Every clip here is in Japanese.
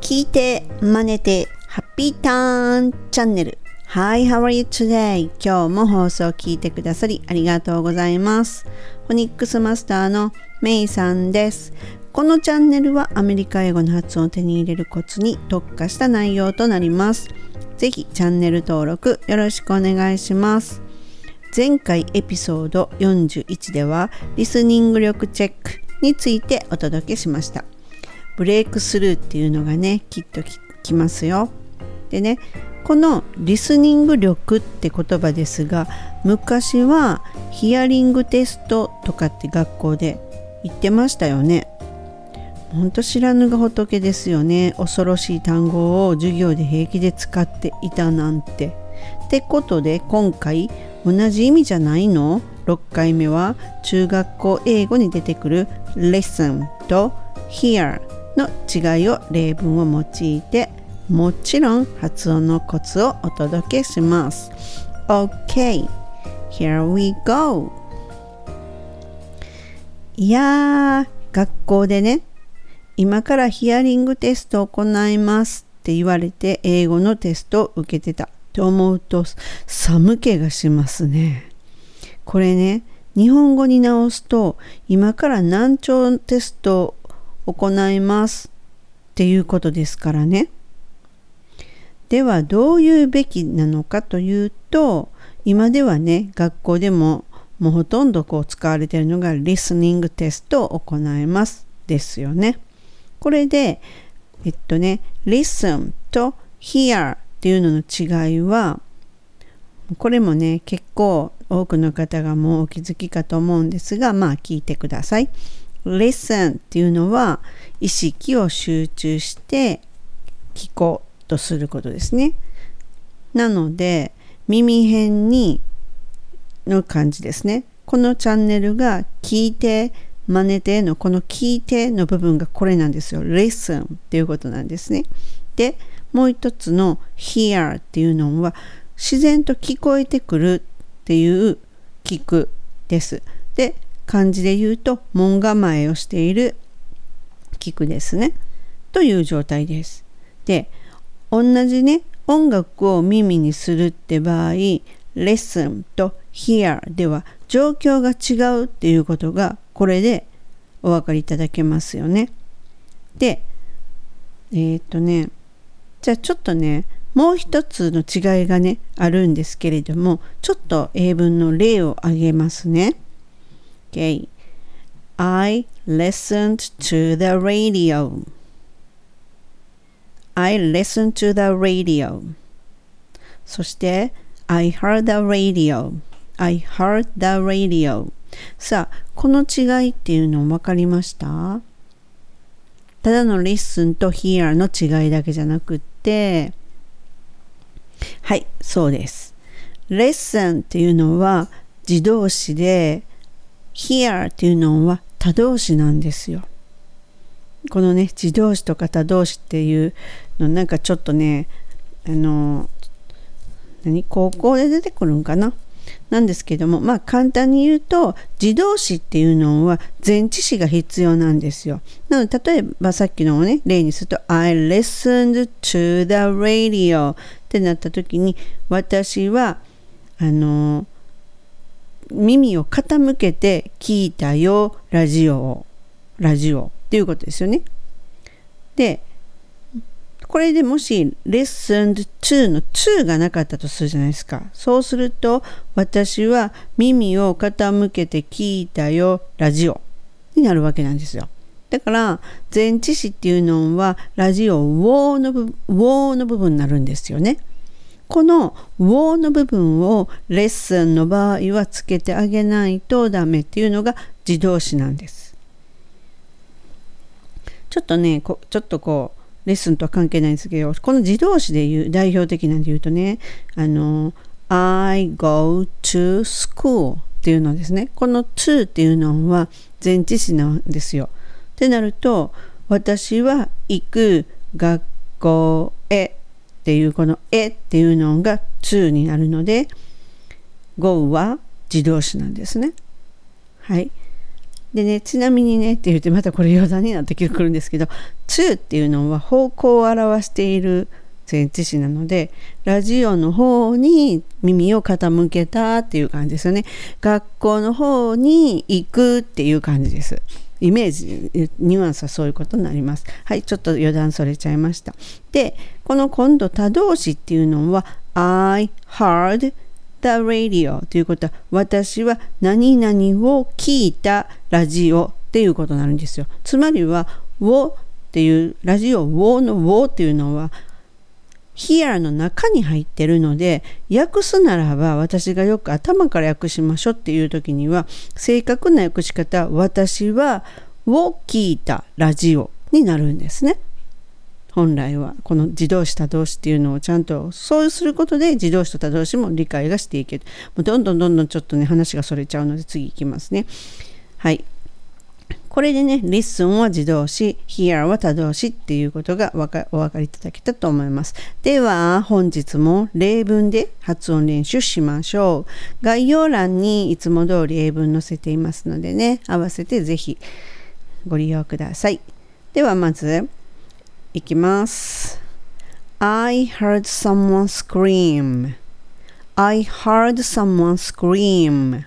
聞いて真似てハッピーターンチャンネル。 Hi, how are you today? 今日も放送を聞いてくださりありがとうございます。フォニックスマスターのメイさんです。このチャンネルはアメリカ英語の発音を手に入れるコツに特化した内容となります。ぜひチャンネル登録よろしくお願いします。前回エピソード41ではリスニング力チェックについてお届けしました。ブレイクスルーっていうのがね、きっときますよ。でね、このリスニング力って言葉ですが、昔はヒアリングテストとかって学校で言ってましたよね。ほんと知らぬが仏ですよね。恐ろしい単語を授業で平気で使っていたなんて。ってことで今回同じ意味じゃないの？6回目は中学校英語に出てくる listen と hear の違いを例文を用いて、もちろん発音のコツをお届けします。 OK, here we go。 いやー、学校でね、今からヒアリングテストを行いますって言われて英語のテストを受けてたと思うと寒気がしますね。これね、日本語に直すと今から難聴テストを行いますっていうことですからね。ではどういうべきなのかというと、今ではね、学校でももうほとんど使われているのがリスニングテストを行いますですよね。これでlisten と hear っていうのの違いは、これもね、結構多くの方がもうお気づきかと思うんですが、聞いてください。listen っていうのは意識を集中して聞こうとすることですね。なので耳辺にの感じですね。このチャンネルが聞いて真似てのこの聞いての部分がこれなんですよ。listen っていうことなんですね。で、もう一つの hear っていうのは自然と聞こえてくるっていう聞くです。で、漢字で言うと門構えをしている聞くですね。という状態です。で、同じね、音楽を耳にするって場合、listen と hear では状況が違うっていうことがこれでお分かりいただけますよね。で、じゃあちょっとね、もう一つの違いがね、あるんですけれども、ちょっと英文の例を挙げますね。Okay. I listened to the radio. I listened to the radio. そして、I heard the radio. I heard the radio. さあ、この違いっていうの分かりました？ただの listen と hear の違いだけじゃなくって、はい、そうです。listen っていうのは自動詞で、hear っていうのは他動詞なんですよ。このね、自動詞とか他動詞っていうのなんかちょっとね、高校で出てくるんかななんですけども、簡単に言うと自動詞っていうのは前置詞が必要なんですよ。なので例えばさっきのをね、例にすると I listened to the radio ってなった時に、私は耳を傾けて聞いたよ、ラジオっていうことですよね。で、これでもし listened to の to がなかったとするじゃないですか。そうすると、私は耳を傾けて聞いたよ、ラジオになるわけなんですよ。だから前置詞っていうのはラジオ WO の部分になるんですよね。この WO の部分をレッスンの場合はつけてあげないとダメっていうのが自動詞なんです。ちょっとレッスンとは関係ないんですけど、この自動詞で言う代表的なんで言うとね、I go to school っていうのですね。この to っていうのは前置詞なんですよ。ってなると、私は行く学校へっていうこのへっていうのが to になるので、go は自動詞なんですね。はい。 でね、ちなみにねって言ってまたこれ余談になってくるんですけど、to っていうのは方向を表している前置詞なので、ラジオの方に耳を傾けたっていう感じですよね。学校の方に行くっていう感じです。イメージ、ニュアンスはそういうことになります。はい、ちょっと余談それちゃいました。で、この今度他動詞っていうのは I heard the radio ということは、私は何々を聞いたラジオっていうことになるんですよ。つまりは をっていうラジオをのをっていうのはhere の中に入ってるので、訳すならば私がよく頭から訳しましょうっていう時には、正確な訳し方、私はを聞いたラジオになるんですね。本来はこの自動詞他動詞っていうのをちゃんとそうすることで、自動詞と他動詞も理解がしていける。もうどんどんちょっとね話がそれちゃうので次いきますね。はい、これでね、listen は自動詞、hear は他動詞っていうことがお分かりいただけたと思います。では、本日も例文で発音練習しましょう。概要欄にいつも通り英文載せていますのでね、合わせてぜひご利用ください。では、まず、いきます。I heard someone scream. I heard someone scream.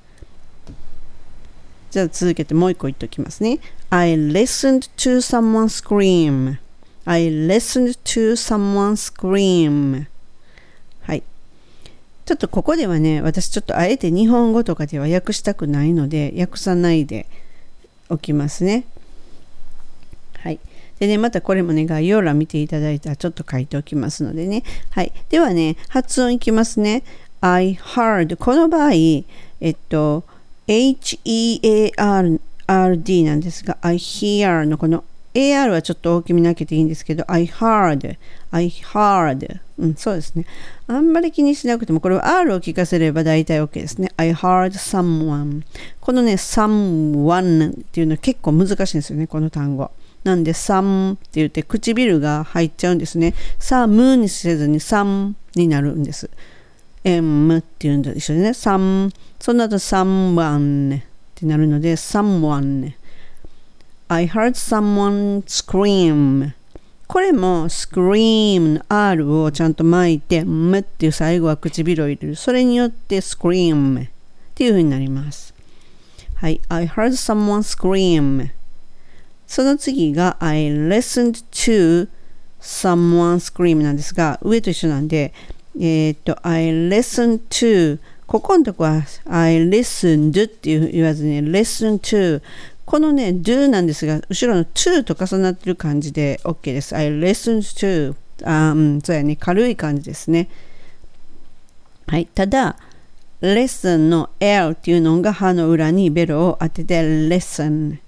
じゃあ続けてもう一個言っておきますね。I listened to someone scream. I listened to someone scream. はい。ちょっとここではね、私ちょっとあえて日本語とかでは訳したくないので、訳さないでおきますね。はい。でね、またこれもね、概要欄見ていただいたらちょっと書いておきますのでね。はい。ではね、発音いきますね。I heard。この場合、H-E-A-R-D なんですが、I hear のこの AR はちょっと大きめに開けていいんですけど、I heard、そうですね。あんまり気にしなくても、これは R を聞かせれば大体 OK ですね。I heard someone。このね、someone っていうのは結構難しいんですよね、この単語。なんで、some って言って唇が入っちゃうんですね。some にせずに some になるんです。M っていうのと一緒でね、some、その後 someone ってなるので、someone。I heard someone scream。これも scream の R をちゃんと巻いて、M っていう最後は唇を入れる。それによって scream っていう風になります。はい。I heard someone scream。その次が I listened to someone scream なんですが、上と一緒なんで、I listened to ここのとこは I listened って言わずに listen to このね do なんですが後ろの to と重なってる感じで OK です。I listened to そうやね、軽い感じですね。はい。ただ listen の L っていうのが歯の裏にベロを当てて listen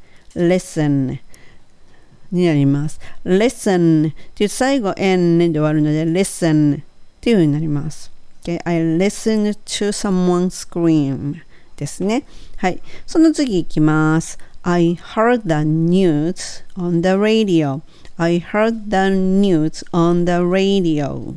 になります。listen っていう最後 n で終わるので listenっていう風になります。Okay? I listened to someone scream ですね。はい。その次いきます。I heard the news on the radio. I heard the news on the radio.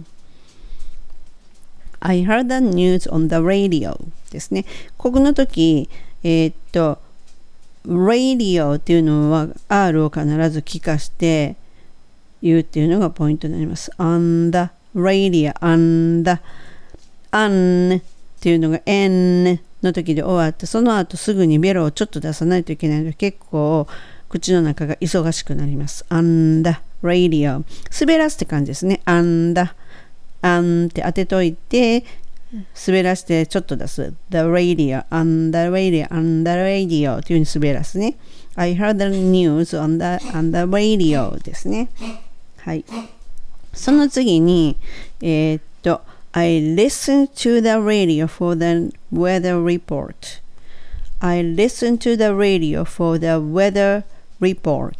I heard the news on the radio ですね。ここの時、radio っていうのは R を必ず聞かして言うっていうのがポイントになります。on the radio and an っていうのが n の時で終わってその後すぐにベロをちょっと出さないといけないので結構口の中が忙しくなります。and radio 滑らすって感じですね。and って当てといて滑らしてちょっと出す the radio and the radio and the radio っていう風に滑らすね。I heard the news on the radio ですね。はい。その次に、I listened to the radio for the weather report. I listened to the radio for the weather report.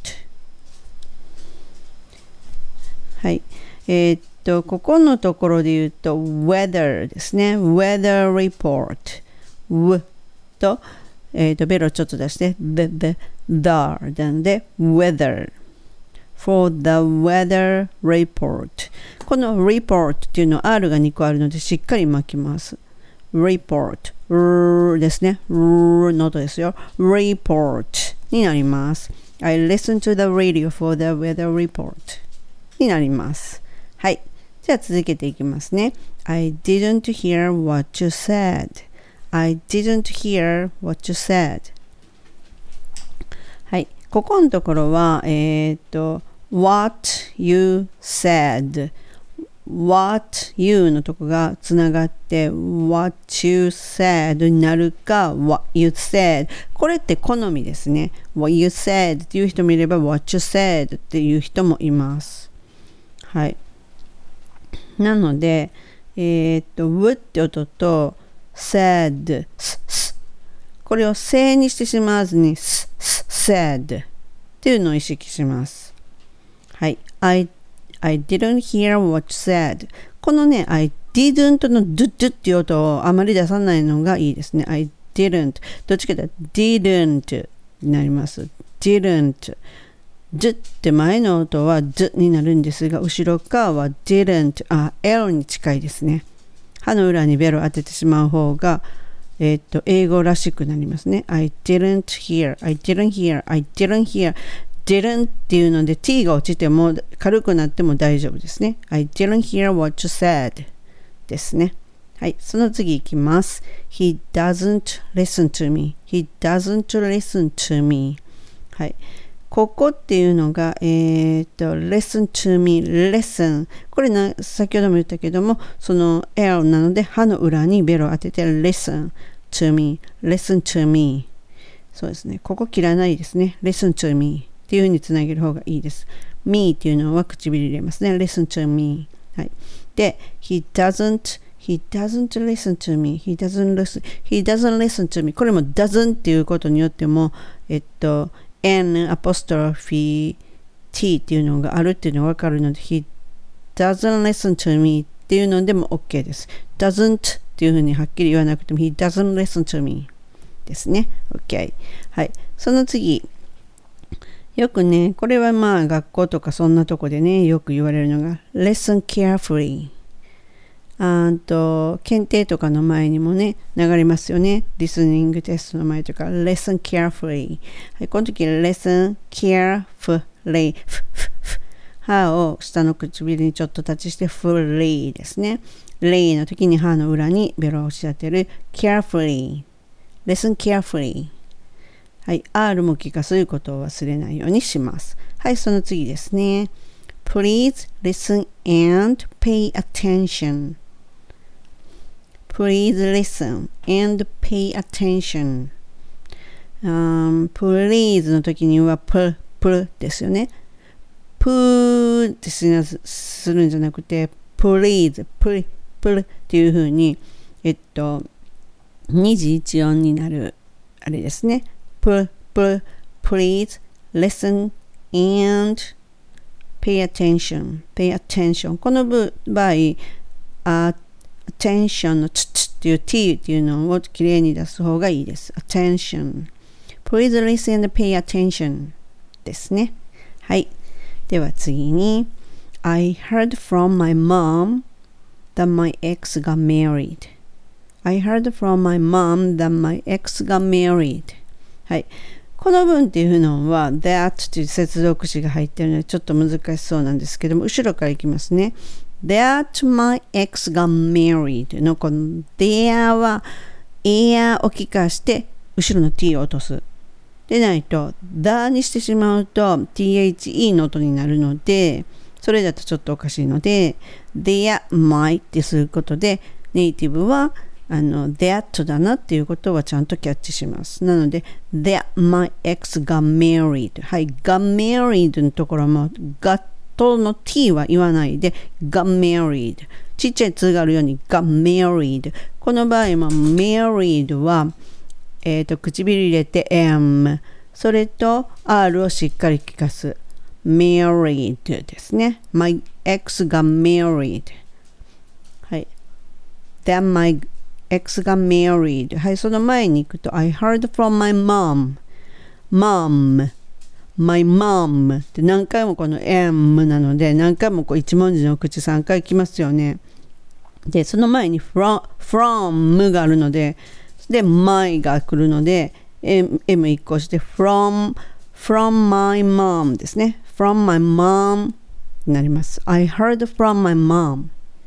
はい。ここのところで言うと weather ですね。weather report。w と、ベロちょっと出して、the なんで weather。for the weather report この report っていうのは R が2個あるのでしっかり巻きます。 report ですね。の音ですよ。report になります。I listen to the radio for the weather report になります。はい。じゃあ続けていきますね。I didn't hear what you said.I didn't hear what you said. はい。ここのところは、what you said。what you のとこがつながって、what you said になるか、what you said。これって好みですね。what you said っていう人もいれば、what you said っていう人もいます。はい。なので、w って音と、said これを正にしてしまわずに said っていうのを意識します。はい。I didn't hear what you said このね I didn't の do っていう音をあまり出さないのがいいですね。I didn't どっちかというと didn't になります。didn't d って前の音は d になるんですが後ろ側は didn't L に近いですね。歯の裏にベロ当ててしまう方が、英語らしくなりますね。I didn't hear, I didn't hear, I didn't hear, didn't っていうので t が落ちても軽くなっても大丈夫ですね。I didn't hear what you said ですね。はい、その次いきます。He doesn't listen to me, he doesn't listen to me はい。ここっていうのが、listen to me, listen これ先ほども言ったけどもその L なので歯の裏にベロを当てて listen to me, listen to me そうですね。ここ切らないですね。listen to me っていう風につなげる方がいいです。me っていうのは唇入れますね。listen to me はい。で he doesn't listen to me, he doesn't listen to me これも doesn't っていうことによってもN アポストロフィー T っていうのがあるっていうのが分かるので He doesn't listen to me っていうのでも OK です。doesn't っていうふうにはっきり言わなくても He doesn't listen to me ですね。OK。はい。その次。よくね、これはまあ学校とかそんなとこでね、よく言われるのが Listen carefully。検定とかの前にもね、流れますよね。リスニングテストの前とか、listen carefully。はい、この時、listen carefully。歯を下の唇にちょっとタッチして、fully ですね。lay の時に歯の裏にベロを押し当てる、carefully。listen carefully。はい、R も聞かすることを忘れないようにします。はい、その次ですね。Please listen and pay attention.Please listen and pay attention. Please の時にはプですよね。プーってするんじゃなくて Please プっていう風に二字一音になるあれですね。Please listen and pay attention. この場合attention のっていう t っていうのをきれいに出す方がいいです。attention. Please listen and pay attention ですね。はい。では次に I heard from my mom that my ex got married. I heard from my mom that my ex got married. はい。この文っていうのは that という接続詞が入っているのでちょっと難しそうなんですけども後ろからいきますね。That my ex got married のこの there は air を聞かして後ろの t を落とす。でないと the にしてしまうと the の音になるのでそれだとちょっとおかしいので there my ってすることでネイティブはthat だなっていうことはちゃんとキャッチします。なので that my ex got married はい got married のところも gotとの t は言わないで got married ちっちゃいつがあるように got married この場合も married は、唇入れて m それと r をしっかり聞かす married ですね。 my ex got married はい that my ex got married はいその前に行くと I heard from my mom My mom って何回もこの m なので何回もこう一文字の口3回きますよね。 で、その前に from があるので、で、my が来るので、M 一個して from my mom ですね。from my mom になります。I heard from my mom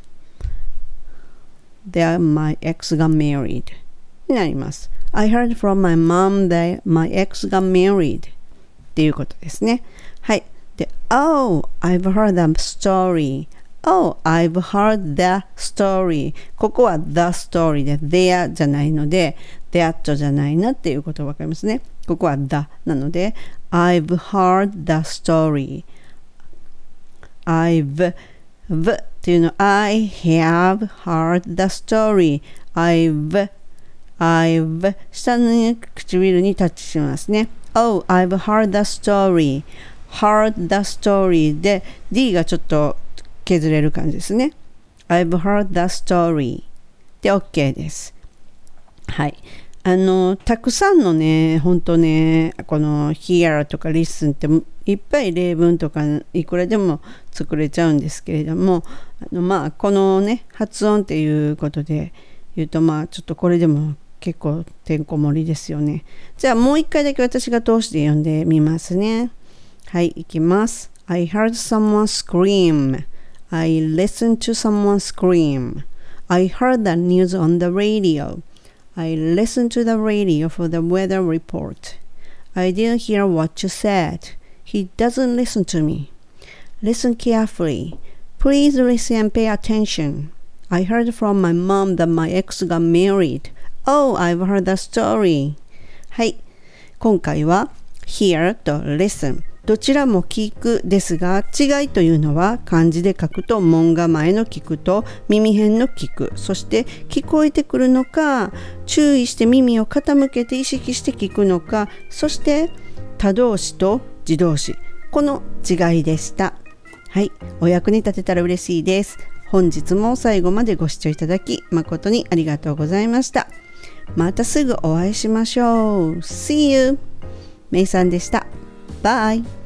that my ex got married になります。I heard from my mom that my ex got married っていうことですね。はい。で、Oh, I've heard the story.Oh, I've heard the story. ここは the story で there じゃないので that じゃないなっていうことがわかりますね。ここは the なので I've heard the story. I've っていうの I have heard the story. I've 下の唇にタッチしますね。Oh, I've heard the story. Heard the story で D がちょっと削れる感じですね。I've heard the story で OK です。はい。たくさんのね、本当ね、この hear とか listen っていっぱい例文とかいくらでも作れちゃうんですけれども、このね、発音っていうことで言うと、ちょっとこれでも結構てんこ盛りですよね。じゃあもう一回だけ私が通して読んでみますね。はい、いきます。I heard someone scream.I listened to someone scream. I heard the news on the radio. I listened to the radio for the weather report. I didn't hear what you said. He doesn't listen to me. Listen carefully. Please listen and pay attention. I heard from my mom that my ex got married. Oh, I've heard the story. はい。今回は hear と listen。どちらも聞くですが、違いというのは漢字で書くと門構えの聞くと耳辺の聞く、そして聞こえてくるのか、注意して耳を傾けて意識して聞くのか、そして他動詞と自動詞、この違いでした。はい、お役に立てたら嬉しいです。本日も最後までご視聴いただき誠にありがとうございました。またすぐお会いしましょう。See you! めいさんでした。Bye!